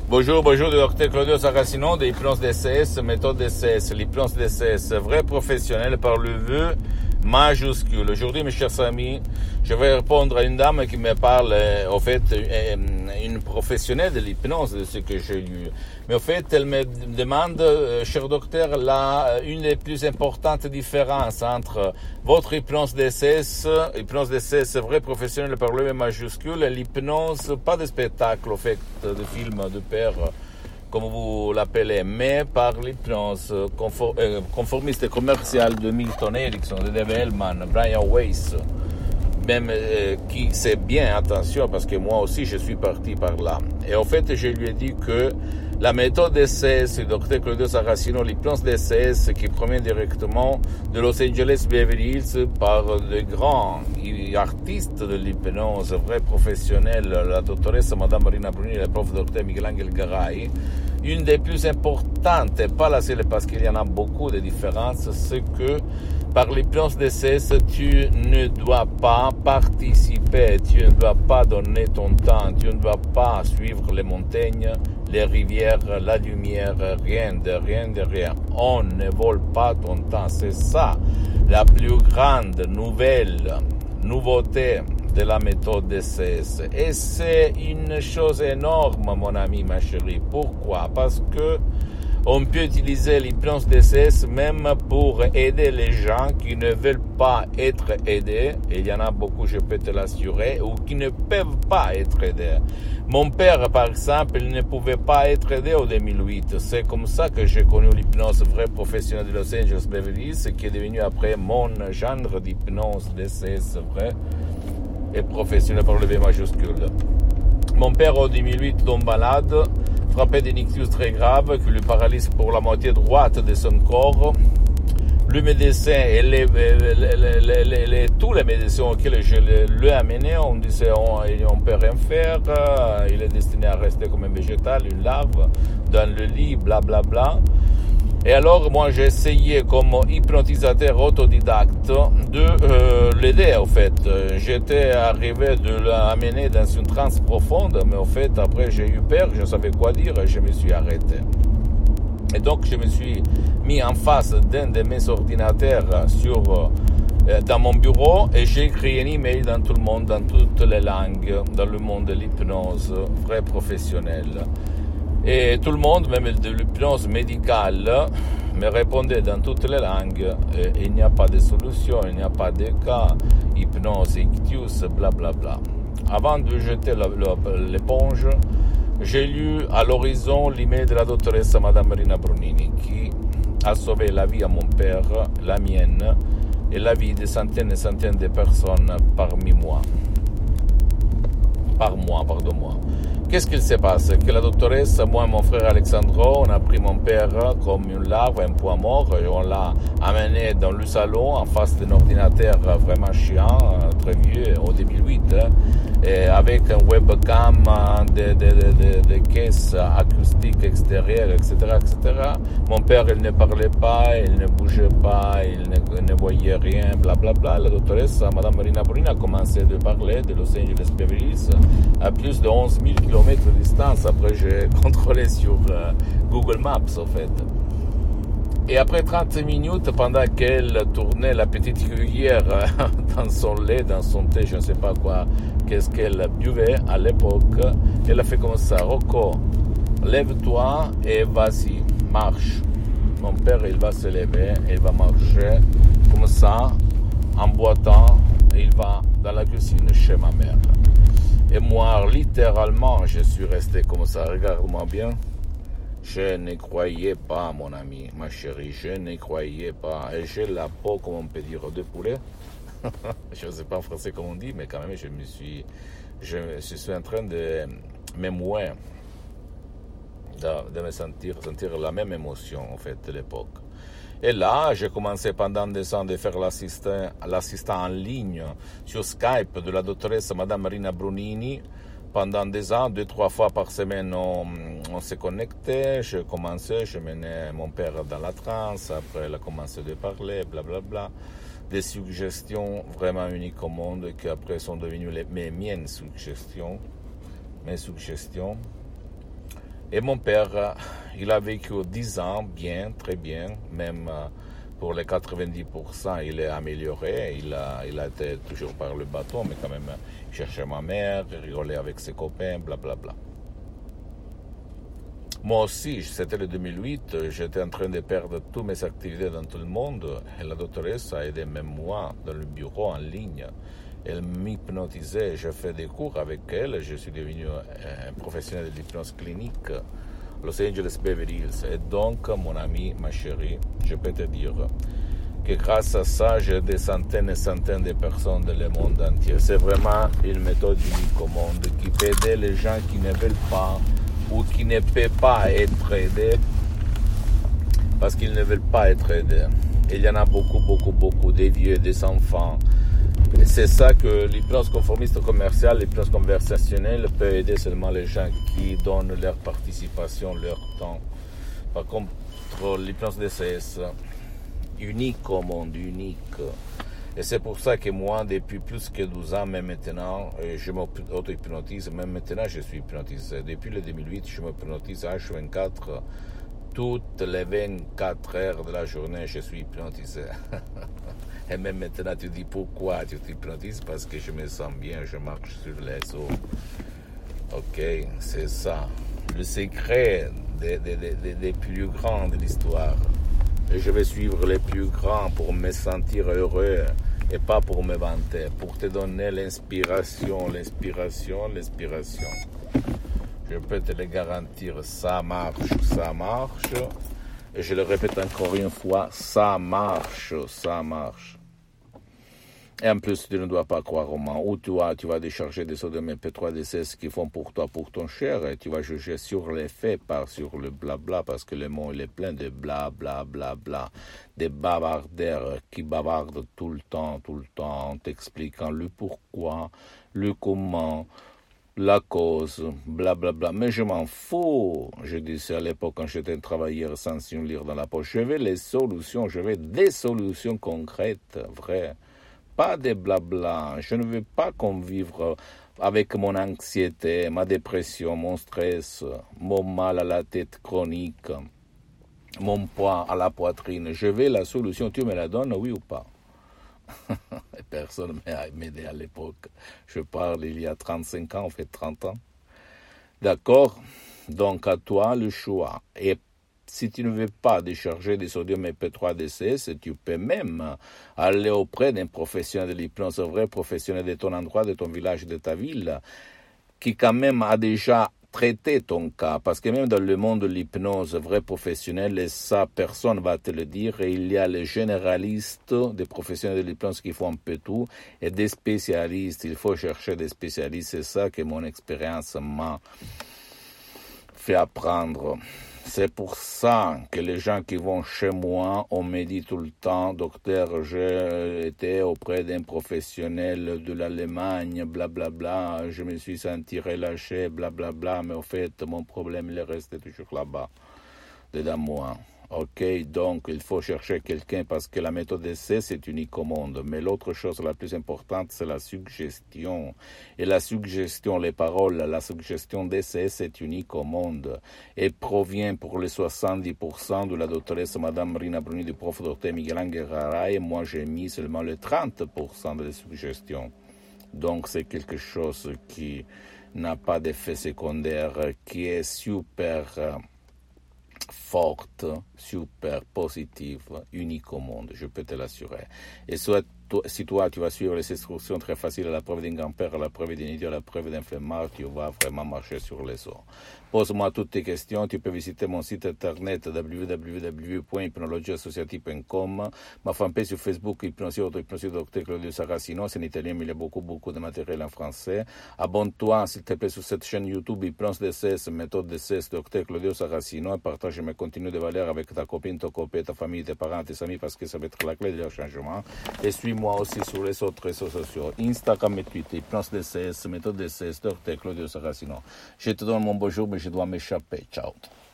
Bonjour, bonjour, docteur Claudio Saracino de l'hypnose DCS, méthode DCS, l'hypnose DCS, vrai professionnel par le vœu majuscule. Aujourd'hui, mes chers amis, je vais répondre à une dame qui me parle, au fait, une professionnelle de l'hypnose, de ce que j'ai lu. Mais au fait, elle me demande, cher docteur, une des plus importantes différences entre votre hypnose DCS, vrai professionnel par le vœu majuscule, et l'hypnose, pas de spectacle, au fait, de film, de père, comme vous l'appelez, mais par l'hypnose conformiste commerciale de Milton Erickson, de Dave Hellman, Brian Weiss, même qui sait bien, attention, parce que moi aussi je suis parti par là. Et en fait, je lui ai dit que la méthode DCS, le docteur Claudio Saracino, l'hypnose DCS qui provient directement de Los Angeles Beverly Hills par de grands artistes de l'hypnose, vrais professionnels, la doctoresse Madame Marina Bruni et le prof docteur Miguel-Angel Garay, une des plus importantes, et pas la seule parce qu'il y en a beaucoup de différences, c'est que par l'hypnose DCS, tu ne dois pas participer, tu ne dois pas donner ton temps, tu ne dois pas suivre les montagnes, les rivières, la lumière, rien. On ne vole pas ton temps. C'est ça la plus grande nouveauté de la méthode DCS. Et c'est une chose énorme, mon ami, ma chérie. Pourquoi? Parce que on peut utiliser l'hypnose DCS même pour aider les gens qui ne veulent pas être aidés, et il y en a beaucoup, je peux te l'assurer, ou qui ne peuvent pas être aidés. Mon père, par exemple, il ne pouvait pas être aidé en 2008. C'est comme ça que j'ai connu l'hypnose vrai professionnelle de Los Angeles Beverly Hills, qui est devenu après mon genre d'hypnose DCS vrai et professionnel par le V majuscule. Mon père, en 2008, tombe malade, frappé d'un ictus très grave qui lui paralyse pour la moitié droite de son corps. Le médecin et tous les médecins auxquels je l'ai amené, on disait on ne peut rien faire, il est destiné à rester comme un végétal, une larve, dans le lit, blablabla. Et alors, moi, j'ai essayé comme hypnotisateur autodidacte de l'aider, en fait. J'étais arrivé de l'amener dans une transe profonde, mais en fait, après, j'ai eu peur, je savais quoi dire et je me suis arrêté. Et donc, je me suis mis en face d'un de mes ordinateurs dans mon bureau et j'ai écrit un email dans tout le monde, dans toutes les langues, dans le monde de l'hypnose, vrai professionnel. Et tout le monde, même de l'hypnose médicale, me répondait dans toutes les langues. Il n'y a pas de solution, il n'y a pas de cas, hypnose, ictus, blablabla. Avant de jeter l'éponge, j'ai lu à l'horizon l'email de la doctoresse Madame Marina Brunini qui a sauvé la vie à mon père, la mienne et la vie de centaines et centaines de personnes par mois. Qu'est-ce qu'il se passe? Que la doctoresse, moi et mon frère Alexandro, on a pris mon père comme une larve, un poids mort, et on l'a amené dans le salon en face d'un ordinateur vraiment chiant, très vieux, au 2008, et avec un webcam, des caisses acoustiques extérieures, etc., etc. Mon père, il ne parlait pas, il ne bougeait pas, il ne voyait rien, blablabla. La doctoresse, Madame Marina Bruni, a commencé de parler de Los Angeles Beverly Hills à plus de 11 000 km de distance. Après, j'ai contrôlé sur Google Maps, en fait. Et après 30 minutes, pendant qu'elle tournait la petite cuillère dans son lait, dans son thé, je ne sais pas quoi, qu'est-ce qu'elle buvait à l'époque, elle a fait comme ça: Rocco, lève-toi et vas-y, marche. Mon père, il va se lever, il va marcher comme ça, en boitant, et il va dans la cuisine chez ma mère. Et moi, littéralement, je suis resté comme ça, regarde-moi bien. Je ne croyais pas, mon ami, ma chérie, je ne croyais pas. Et j'ai la peau, comme on peut dire, de poulet. Je ne sais pas en français comment on dit, mais quand même, je suis en train de me mouer, de me sentir la même émotion, en fait, de l'époque. Et là, j'ai commencé pendant des ans de faire l'assistant en ligne sur Skype de la doctoresse Madame Marina Brunini. Pendant des ans, 2-3 fois par semaine, on se connectait. Je commençais, je menais mon père dans la transe. Après, elle a commencé de parler, blablabla. Des suggestions vraiment uniques au monde qui après sont devenues mes suggestions. Et mon père, il a vécu 10 ans bien, très bien, même pour les 90%, il est amélioré. Il a été toujours par le bâton, mais quand même, il cherchait ma mère, il rigolait avec ses copains, blablabla. Moi aussi, c'était le 2008, j'étais en train de perdre toutes mes activités dans tout le monde et la doctoresse a aidé même moi dans le bureau en ligne. Elle m'hypnotisait, j'ai fait des cours avec elle, je suis devenu un professionnel de l'hypnose clinique à Los Angeles Beverly Hills. Et donc, mon ami, ma chérie, je peux te dire que grâce à ça, j'ai des centaines et centaines de personnes dans le monde entier. C'est vraiment une méthode unique au monde qui peut aider les gens qui ne veulent pas ou qui ne peuvent pas être aidés parce qu'ils ne veulent pas être aidés. Il y en a beaucoup, des vieux, des enfants. Et c'est ça que l'hypnose conformiste commerciale, l'hypnose conversationnelle peut aider seulement les gens qui donnent leur participation, leur temps. Par contre, l'hypnose DCS, unique au monde, unique. Et c'est pour ça que moi, depuis plus que 12 ans, même maintenant, je m'auto-hypnotise. Même maintenant, je suis hypnotisé. Depuis le 2008, je m'hypnotise H24. Toutes les 24 heures de la journée, je suis hypnotisé. Et même maintenant, tu dis pourquoi tu t'hypnotises? Parce que je me sens bien, je marche sur les eaux. Ok, c'est ça. Le secret des plus grands de l'histoire. Et je vais suivre les plus grands pour me sentir heureux et pas pour me vanter, pour te donner l'inspiration. Je peux te le garantir, ça marche. Et je le répète encore une fois, ça marche. Et en plus, tu ne dois pas croire au moment où tu vas décharger des sodium MP3 DCS qui font pour toi, pour ton cher, et tu vas juger sur les faits, pas sur le blabla, parce que le monde il est plein de blablabla, des bavardeurs qui bavardent tout le temps, en t'expliquant le pourquoi, le comment, la cause, blablabla. Mais je m'en fous. Je disais à l'époque quand j'étais un travailleur sans une lire dans la poche, je veux des solutions concrètes, vraies. Pas de blabla. Je ne veux pas qu'on vive avec mon anxiété, ma dépression, mon stress, mon mal à la tête chronique, mon poids à la poitrine. Je veux la solution. Tu me la donnes, oui ou pas? Personne ne m'a aidé à l'époque. Je parle il y a 35 ans, en fait 30 ans. D'accord? Donc à toi le choix. Et si tu ne veux pas décharger des sodium MP3 DCS, tu peux même aller auprès d'un professionnel de l'hypnose, un vrai professionnel de ton endroit, de ton village, de ta ville, qui quand même a déjà traité ton cas. Parce que même dans le monde de l'hypnose, vrai professionnel, et ça, personne ne va te le dire, et il y a les généralistes, des professionnels de l'hypnose qui font un peu tout, et des spécialistes. Il faut chercher des spécialistes. C'est ça que mon expérience m'a fait apprendre. C'est pour ça que les gens qui vont chez moi, on me dit tout le temps, docteur, j'ai été auprès d'un professionnel de l'Allemagne, blablabla, je me suis senti relâché, blablabla, mais au fait, mon problème, il est resté toujours là-bas, dedans moi. Ok, donc il faut chercher quelqu'un parce que la méthode d'essai, c'est unique au monde. Mais l'autre chose la plus importante, c'est la suggestion. Et la suggestion, les paroles, la suggestion d'essai, c'est unique au monde. Et provient pour les 70% de la doctoresse Madame Rina Bruni du prof Dr Miguel Ángel Garay. Et moi, j'ai mis seulement le 30% de la suggestion. Donc c'est quelque chose qui n'a pas d'effet secondaire, qui est super forte, super positive, unique au monde, je peux te l'assurer. Et soit si toi tu vas suivre les instructions très faciles à la preuve d'un grand-père, à la preuve d'un idiot, à la preuve d'un flemmard, tu vas vraiment marcher sur les os. Pose-moi toutes tes questions, tu peux visiter mon site internet www.hypnologieassociative.com, ma fanpage sur Facebook, Hypnosie Dr Claudio Saracino, c'est en italien mais il y a beaucoup de matériel en français. Abonne-toi s'il te plaît sur cette chaîne YouTube Hypnose DCS, méthode DCS Dr Claudio Saracino, et partage mes contenus de valeur avec ta copine, ton copain, ta famille, tes parents, tes amis parce que ça va être la clé de leur changement. Et suis-moi aussi sur les autres réseaux sociaux, Instagram et Twitter, Hypnose DCS, méthode DCS Dr Claudio Saracino. Je te donne mon bonjour mais je dois m'échapper. Ciao.